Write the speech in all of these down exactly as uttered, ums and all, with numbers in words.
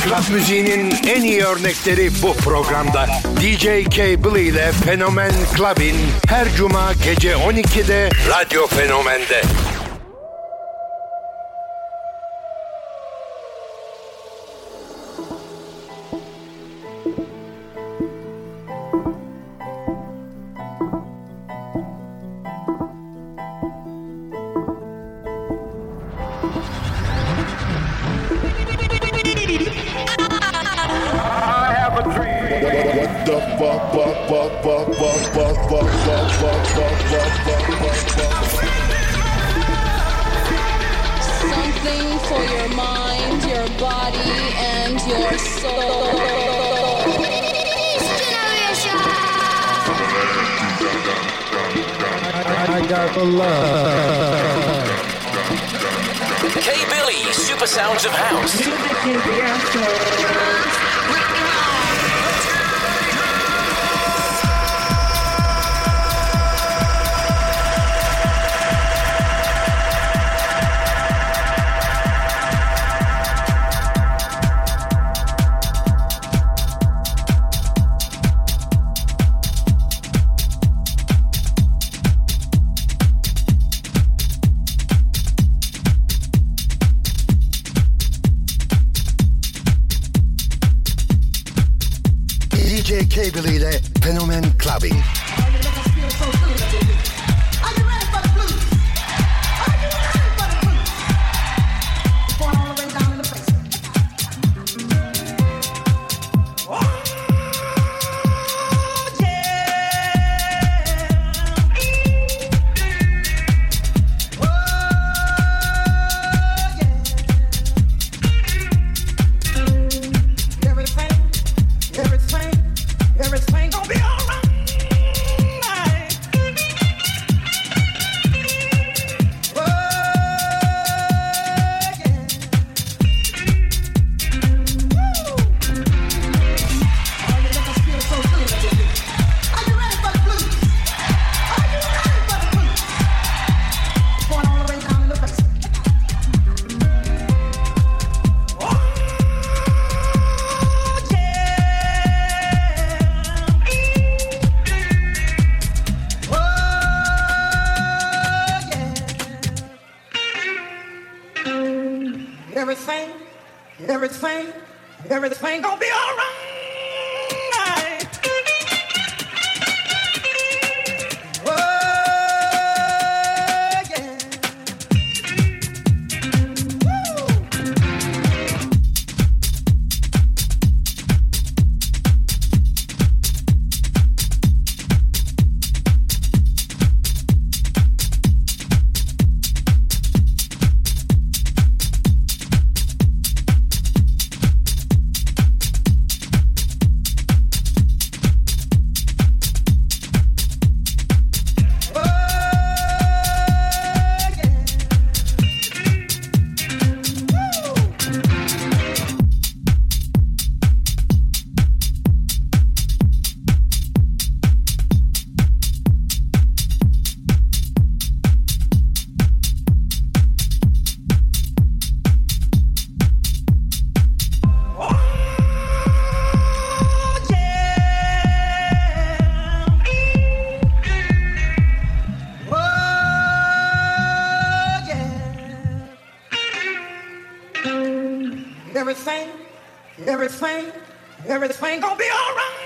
Club müziğinin en iyi örnekleri bu programda. D J Cable ile Fenomen Club'in her cuma gece on ikide Radyo Fenomen'de. Something for your mind, your body, and your soul. I got the love. K-Billy, Super Sounds of House. D J Cable ile Fenomen Clubbing. Everything gonna be alright. everything, everything, everything gonna be all right. Everything, everything, everything gonna be all right.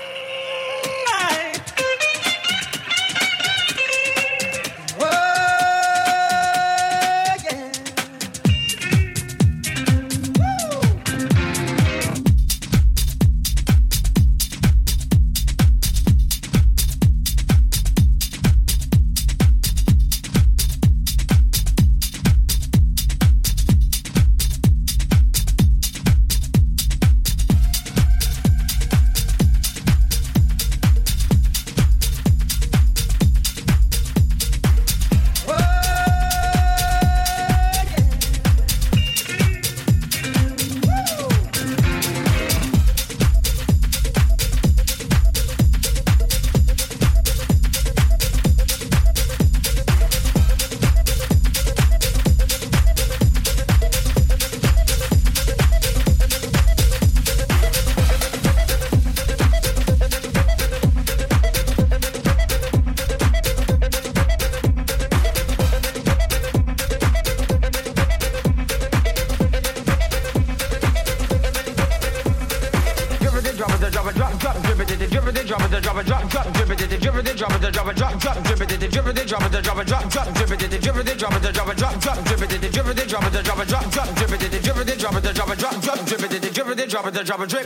it, drop it, drop it, drop, drop, drip it, drip it, drop it, drop it, drop, drop, drip it, drip it, drop it, drop it, drop, drop, drip it, drip it, drop it, drop it, drop, drop, drip it, drip it, drop it, drop it, drop, drop, drip it, drip it, drop it, drop it, drop, drop, drip it, drip it, drop it, drop it, drip.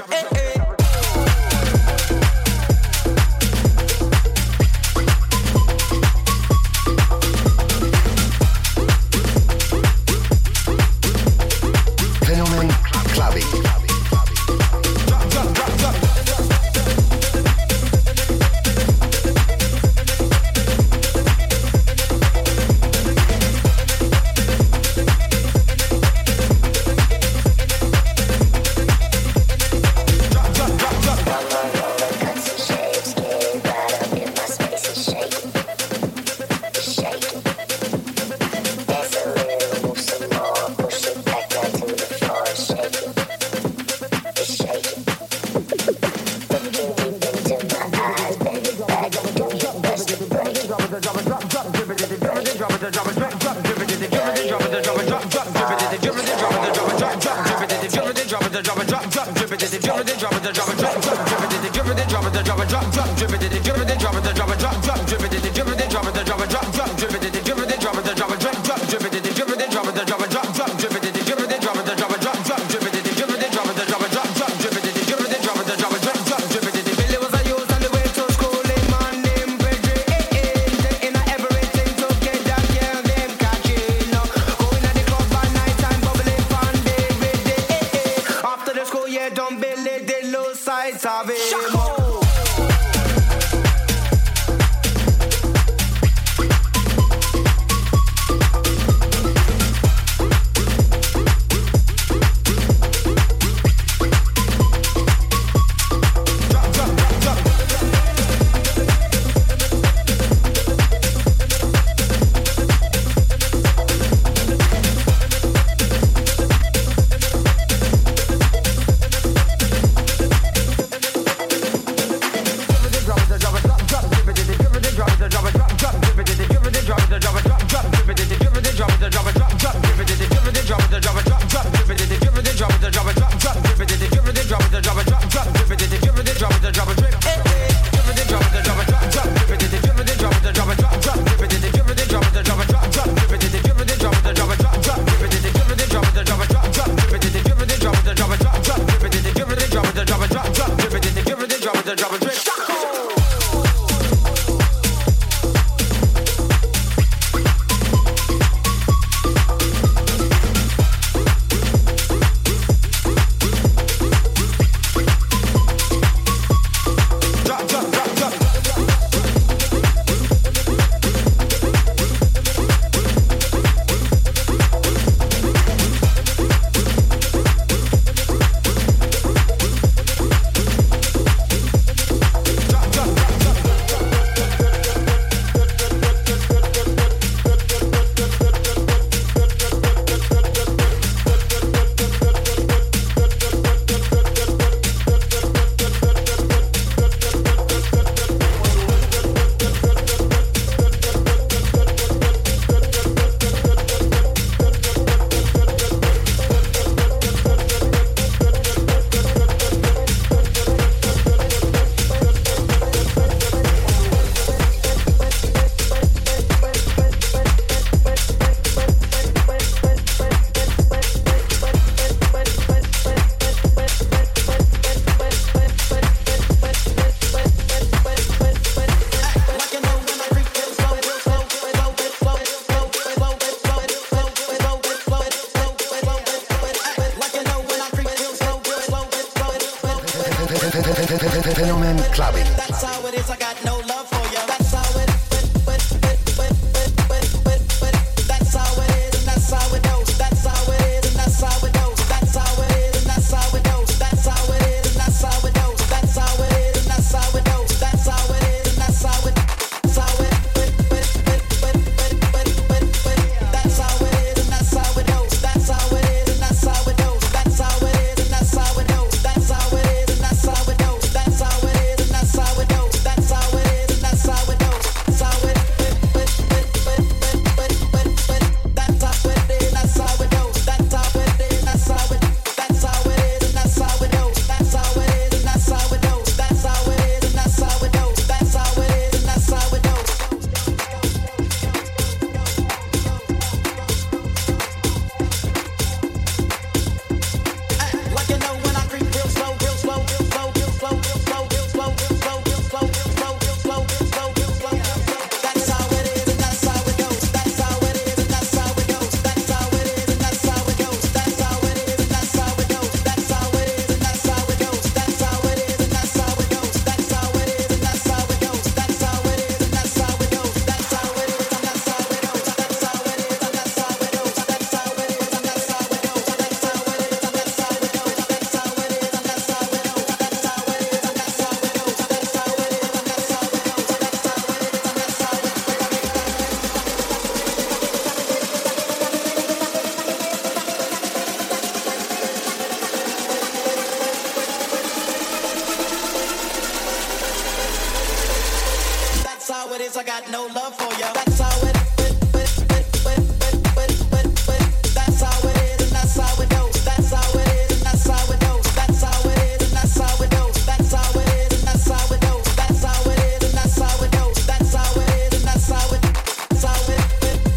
Fenomen Clubbing. Fenomen Clubbing. That's how it is, I got no love for you. That's how it That's how it is, and that's how it goes. That's how it is, and that's how it goes. That's how it is, and that's how it goes. That's how it is, and that's how it goes. That's how it is, and that's how it goes. That's how it is, and that's how it That's how it That's how it is, and that's how it goes. That's how it is, and that's how it goes. That's how it is, and that's how it goes. That's how it is, and that's how it goes. That's how it is, and that's how it goes. That's how it is. got no love for ya. That's how it. That's how it is, and that's how it goes. That's how it is, and that's how it goes. That's how it is, and that's how it goes. That's how it is, and that's how it goes. That's how it is, and that's how it goes. That's how it is, and that's how it. That's how it.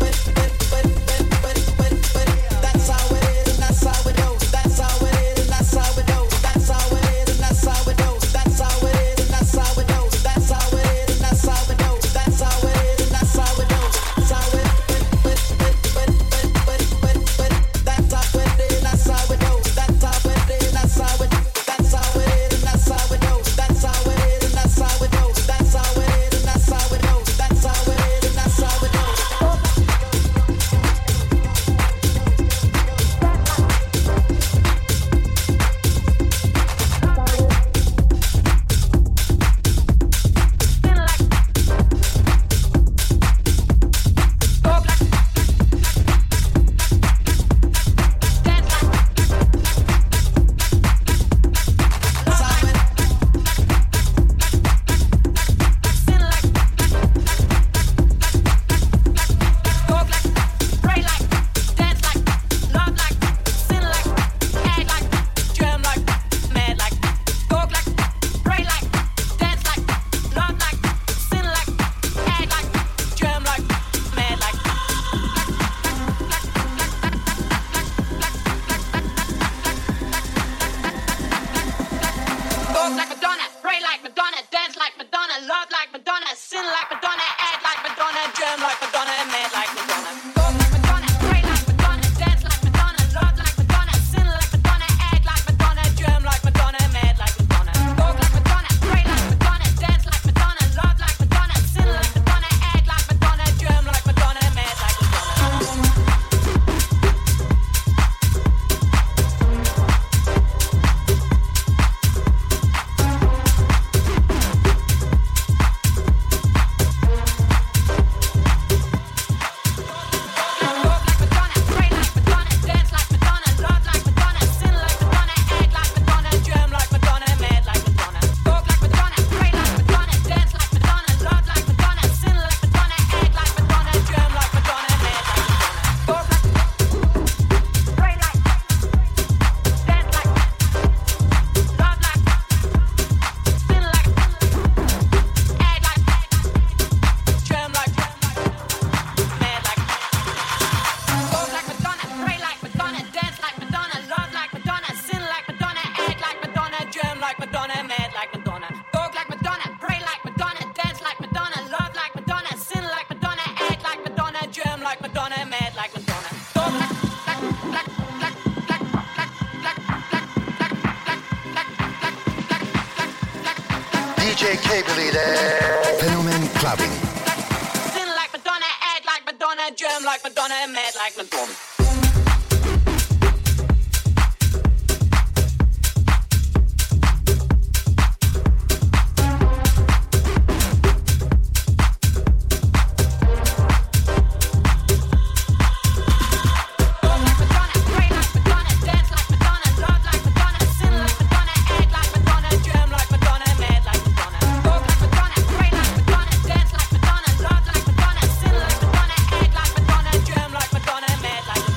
That's how it is, and that's how it goes. That's how it is, and that's how it goes. That's how it is, and that's how it goes. That's how it is, and that's how it goes. That's how it is, and that's how it goes. That's how it is, and that's how it goes. That's how it. D J Cable ile Fenomen Clubbing. Sin like Madonna, act like Madonna, germ like Madonna, mad like Madonna. Like Madonna, mad like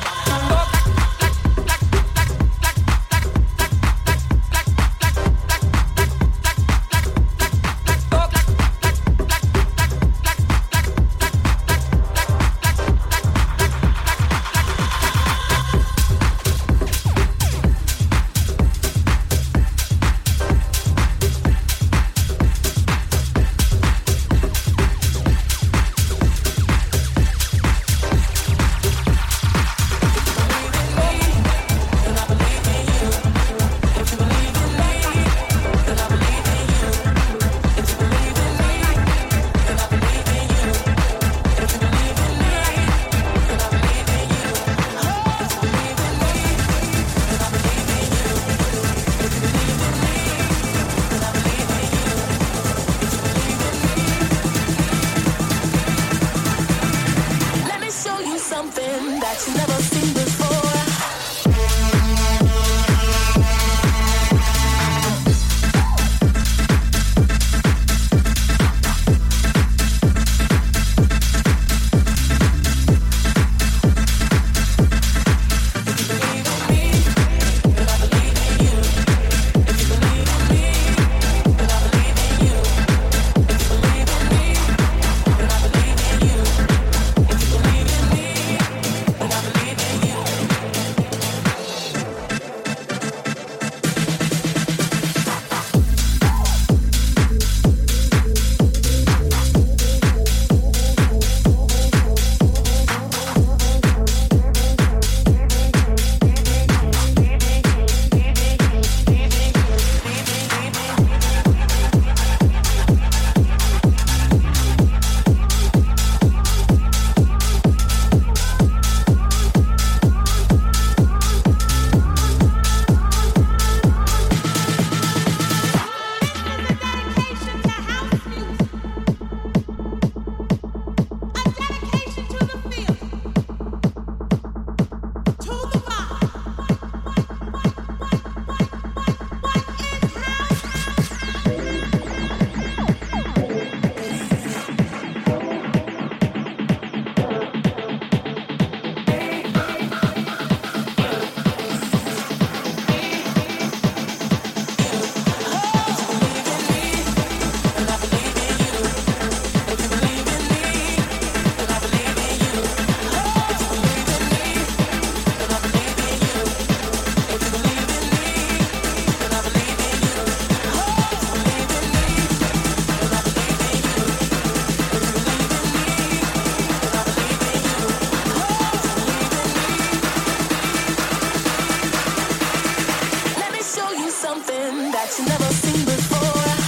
something that you never seen before.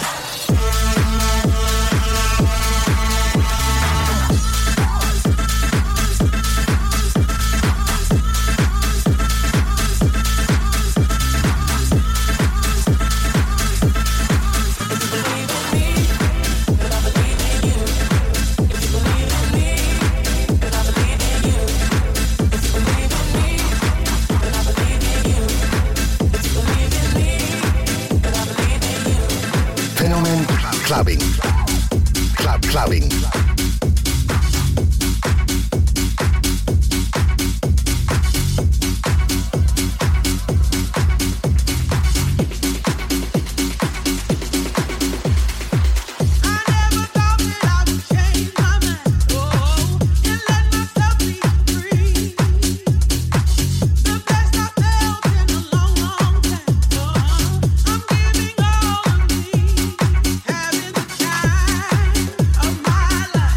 Clubbing. Club clubbing. Of my life.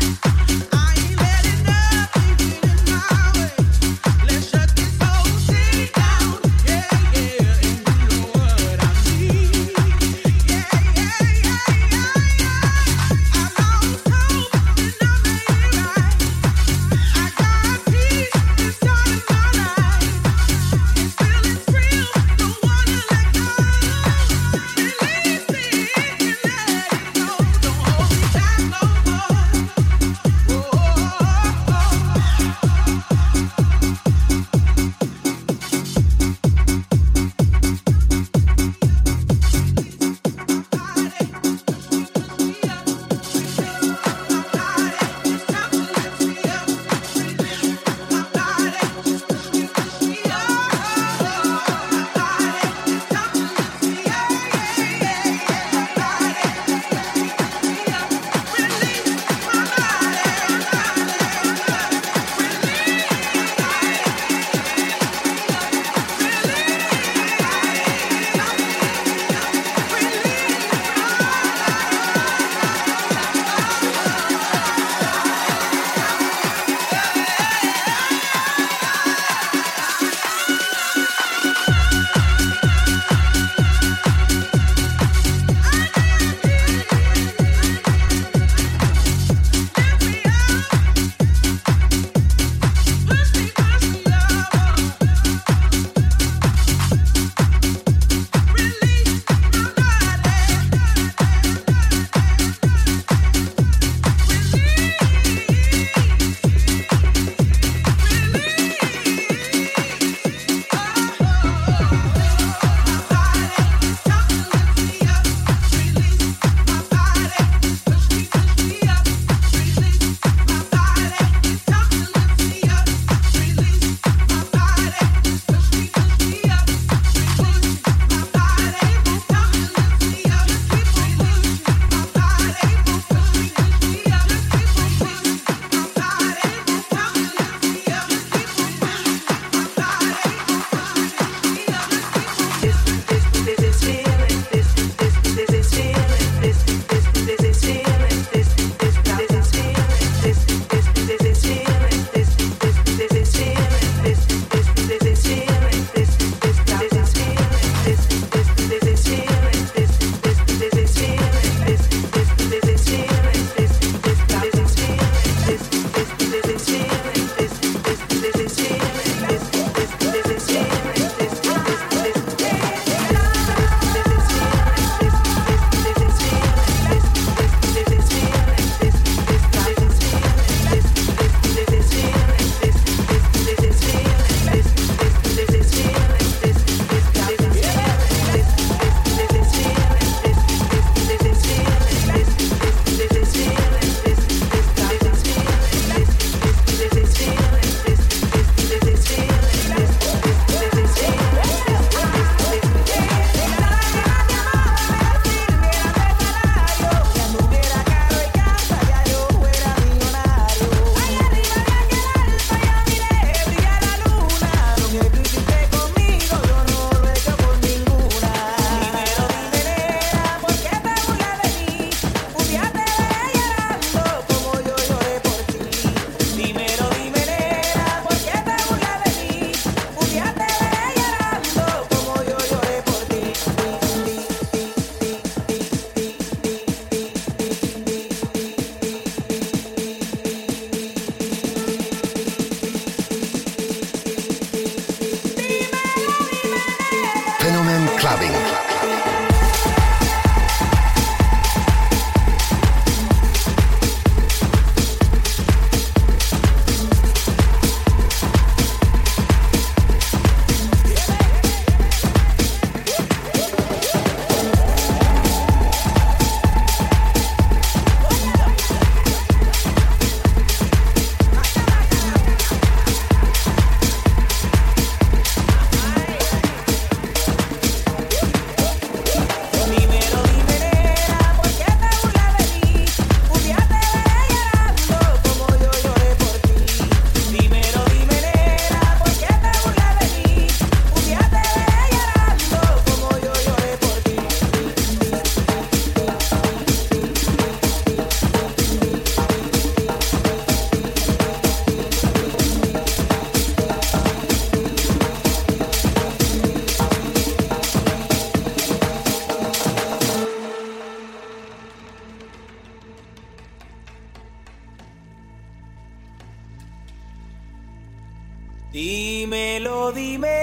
Dímelo, dime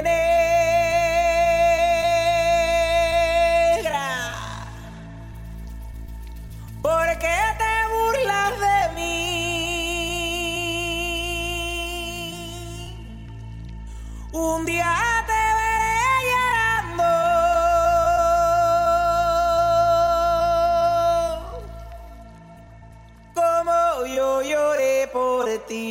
negra, ¿por qué te burlas de mí? Un día te veré llorando como yo lloré por ti.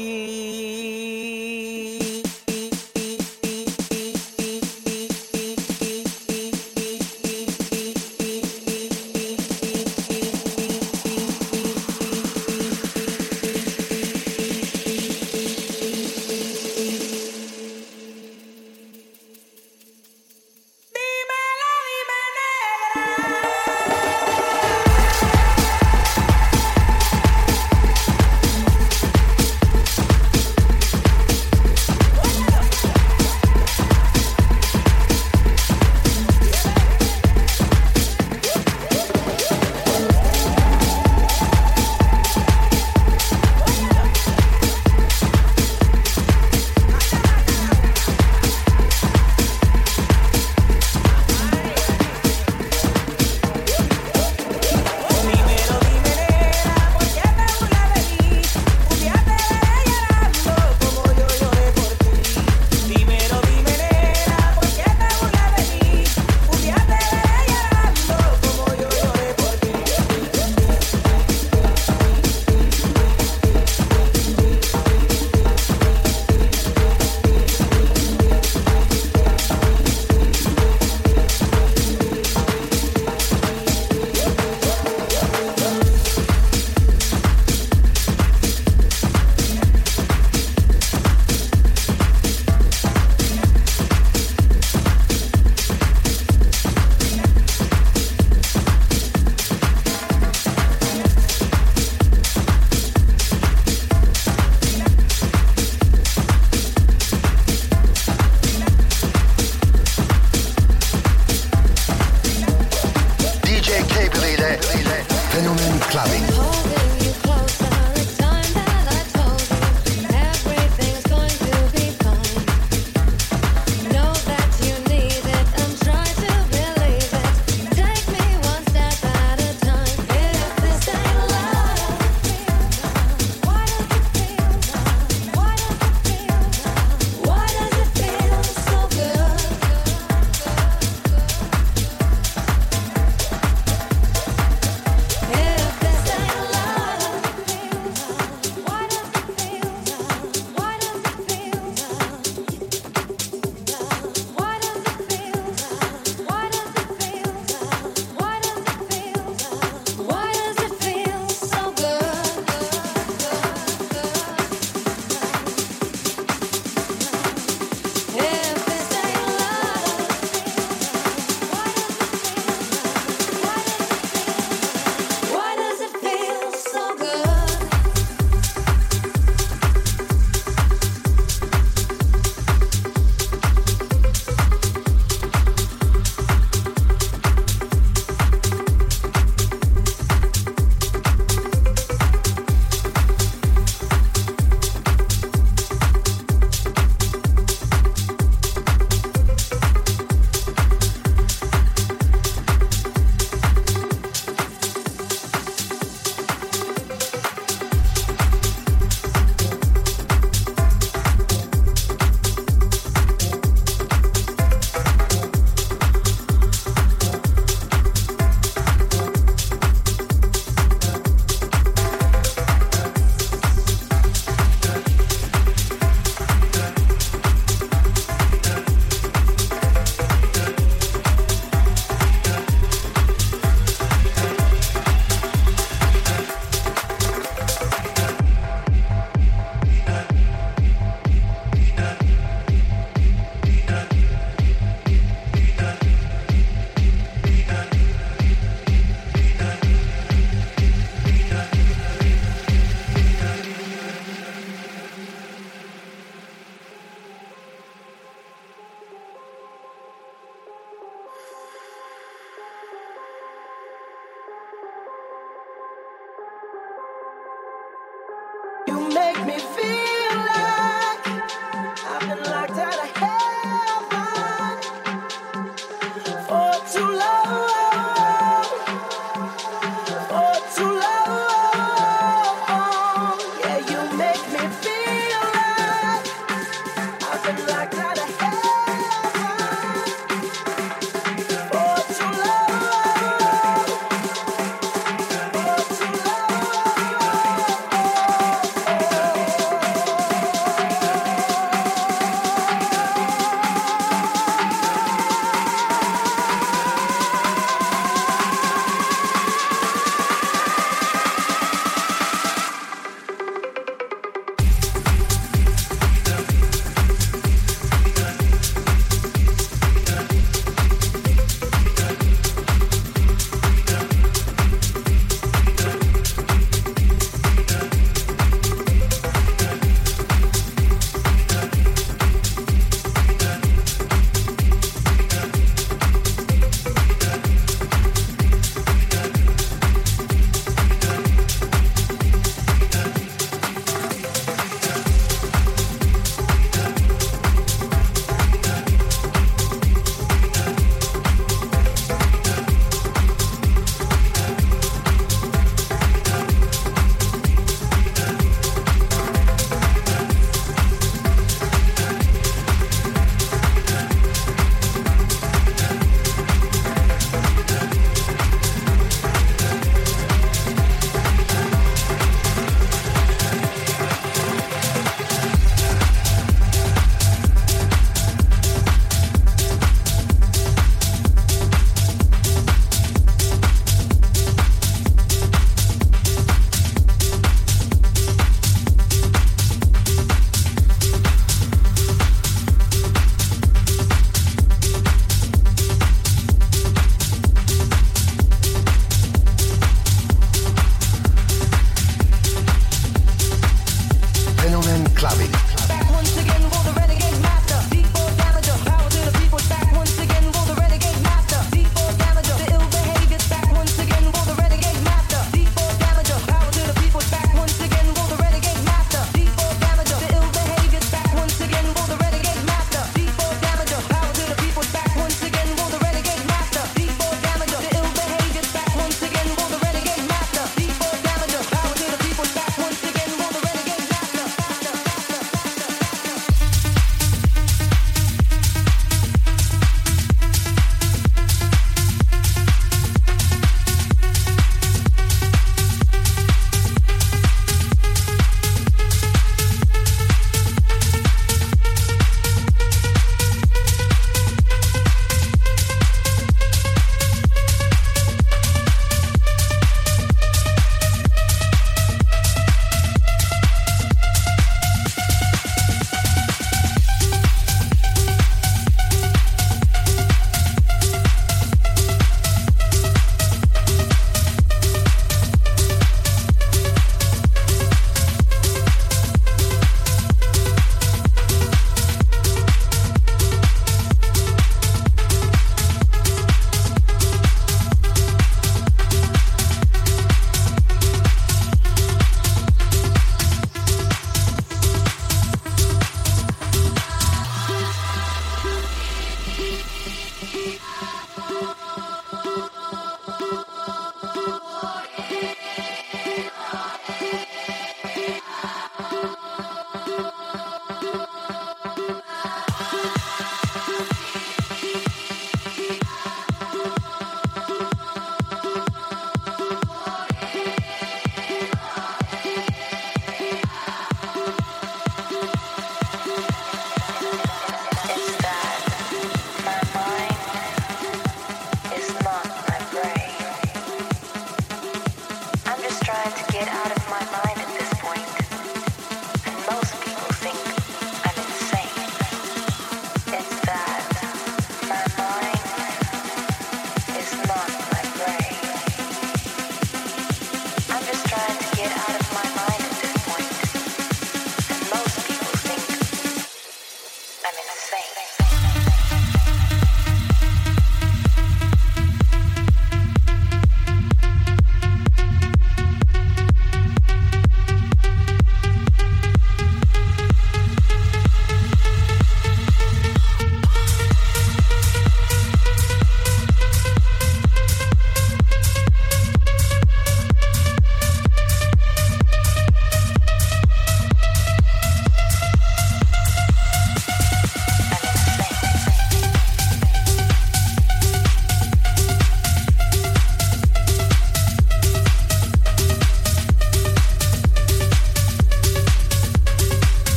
If this ain't love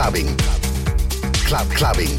clubbing. Club clubbing.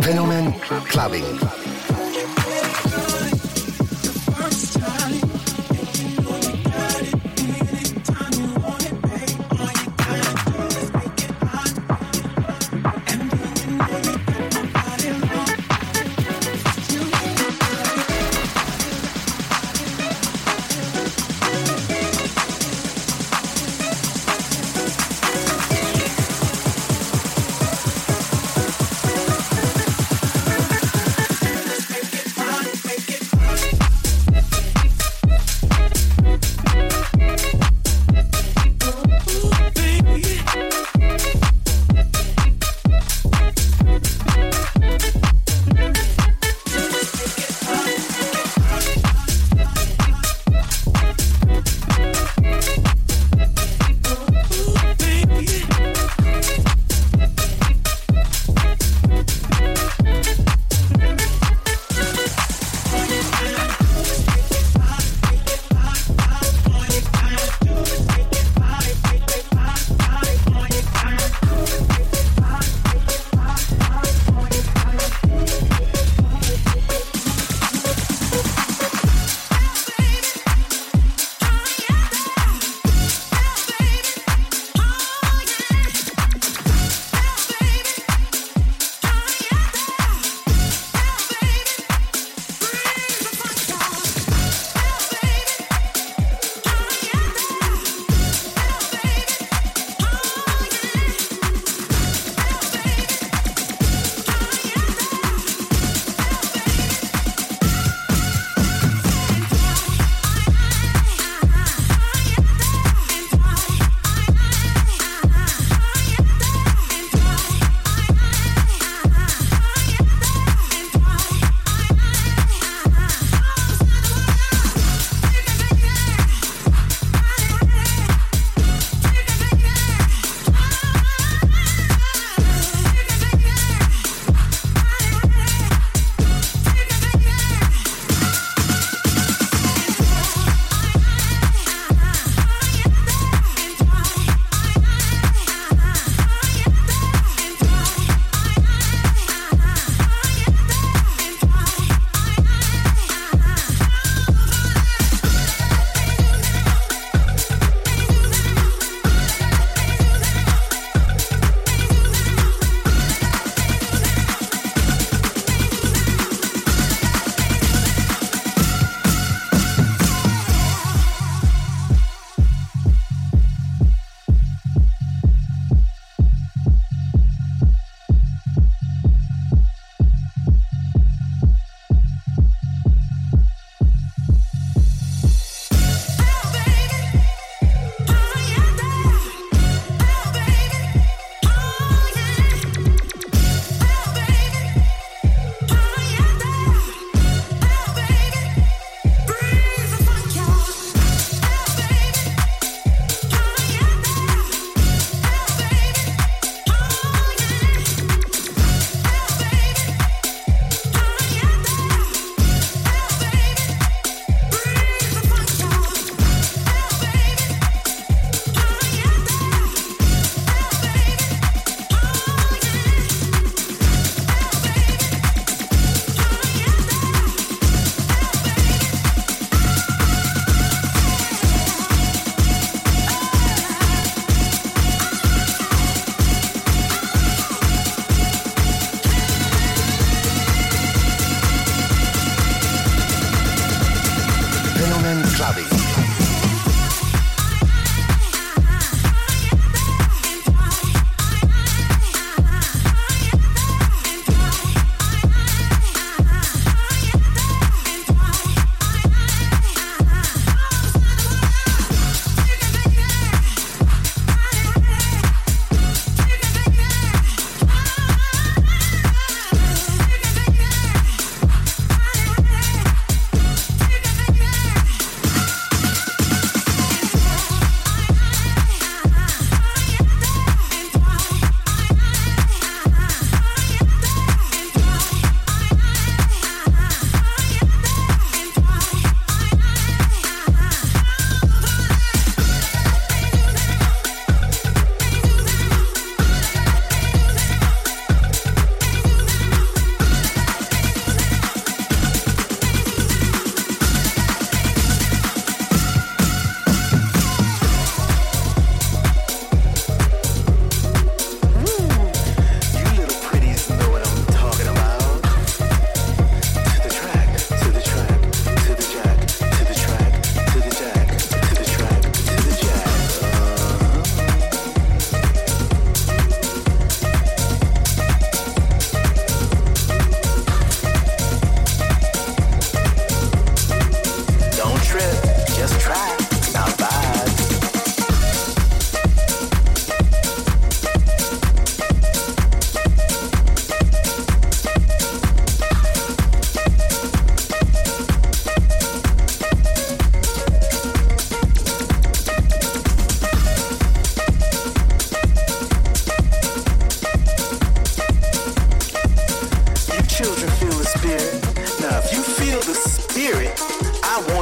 Fenomen Clubbing.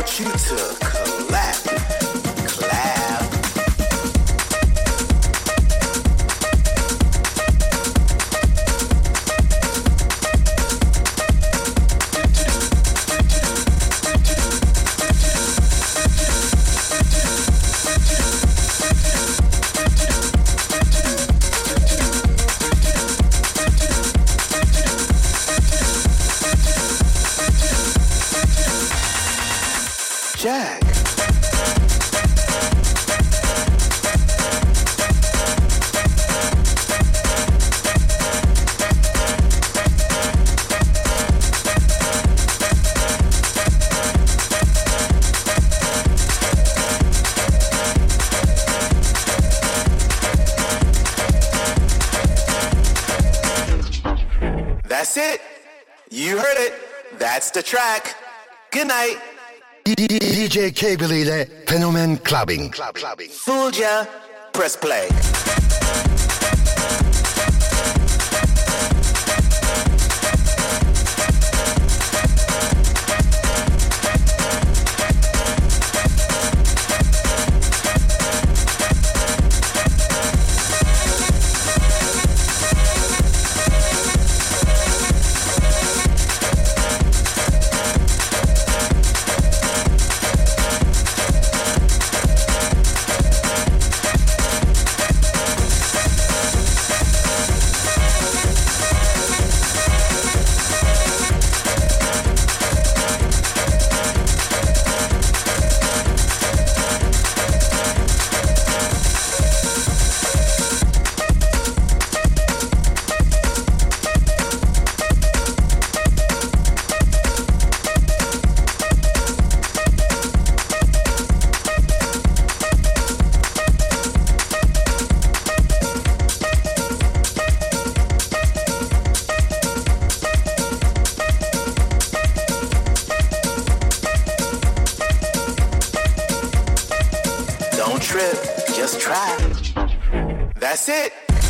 want you to clap, clap. Jack. That's it. You heard it. That's the track. Good night. D J Cable ile Fenomen Clubbing. Club, clubbing. Fooled ya? Press play. That's it.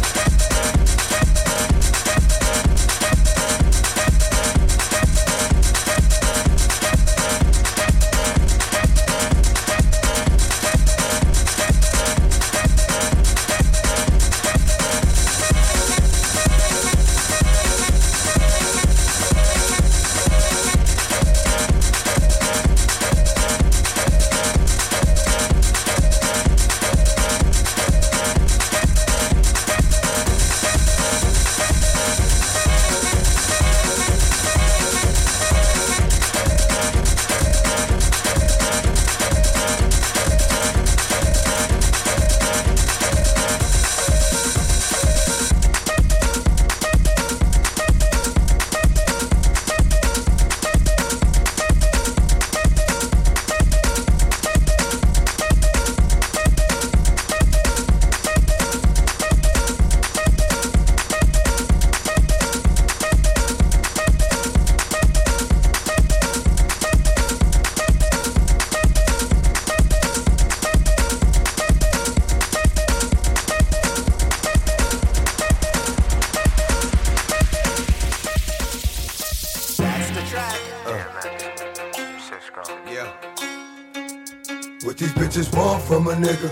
What these bitches want from a nigga?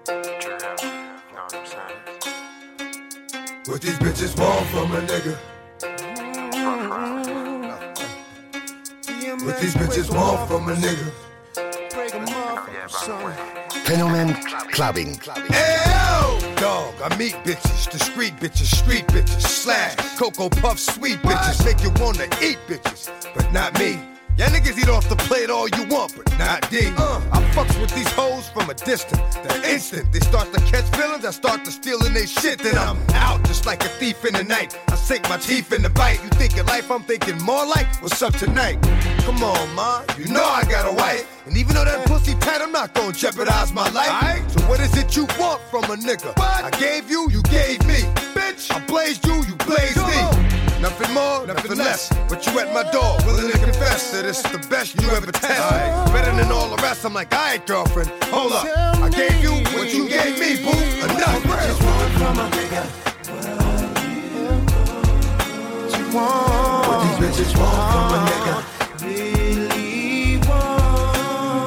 What these bitches want from a nigga? What these bitches want from a nigga? Fenomen Clubbing. L dog, I meet bitches, discreet bitches, street bitches, slash, Cocoa Puff, sweet bitches, make you wanna eat bitches, but not me. Y'all niggas eat off the plate all you want, but not D. Uh, I fucks with these hoes from a distance. The instant they start to catch feelings, I start to stealing they shit. Then I'm out just like a thief in the night. I sink my teeth in the bite. You thinking life, I'm thinking more like, what's up tonight? Come on, ma, you know I got a wife. And even though that pussy tight, I'm not gonna jeopardize my life. Right. So what is it you want from a nigga? What? I gave you, you gave me. Bitch, I blazed you, you blazed me. Nothing more, nothing less. But you at my door, willing to confess that it's the best you ever test. Right. Better than all the rest. I'm like, alright, girlfriend, hold up. I gave you what you gave me, boo. Enough. What you want from a nigga? What you want? What these bitches want from a nigga? Really want?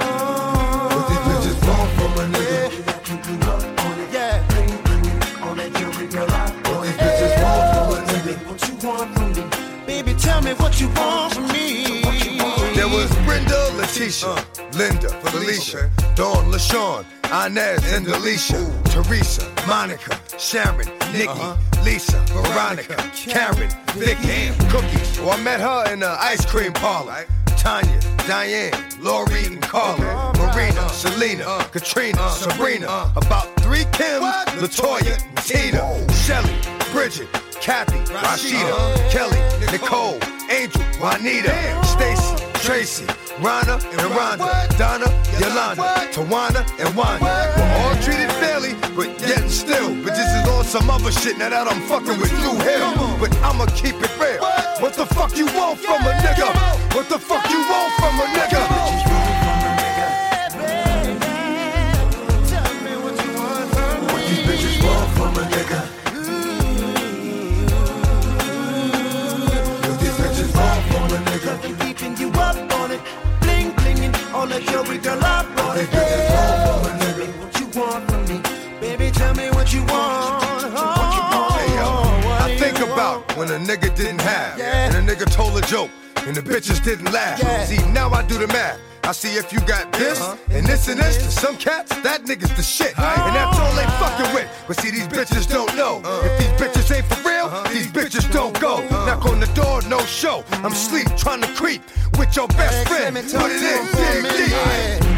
tell me what you want from me. There was Brenda, Letitia, Linda, Felicia, Dawn, LaShawn, Inez, and Alicia, Teresa, Monica, Sharon, Nikki, Lisa, Veronica, Karen, Vicky, Cookie. Well, I met her in the ice cream parlor. Tanya, Diane, Lori, and Carla, Marina, Selena, Katrina, Sabrina, about three Kims, Latoya, Tina, Shelly, Bridget, Kathy, Rashida, Kelly, Nicole, Angel, Juanita, Stacy, Tracy, Rana and Rhonda, Donna, Yolanda, Tawana and Wanda. We're all treated fairly, but yet still, bitches is on some other shit now that I'm fucking with Drew Hill. But I'ma keep it real. What the fuck you want from a nigga? What the fuck you want from a nigga? Tell me what you want from me. What these bitches want from a nigga? What these bitches want from a nigga? Keeping you up on it, bling blinging, all that jewelry girl up on it. What you want from me? Baby, tell me what you want. Hey yo, I think about when a nigga didn't have, and a nigga told a joke, and the bitches didn't laugh. See, now I do the math. I see if you got this, and this and this. To some cats, that nigga's the shit. And that's all they fucking with. But see, these bitches don't know. If these bitches ain't for real, these bitches don't go. Knock on the door, no show. I'm asleep, trying to creep with your best friend. Put it in, dig deep.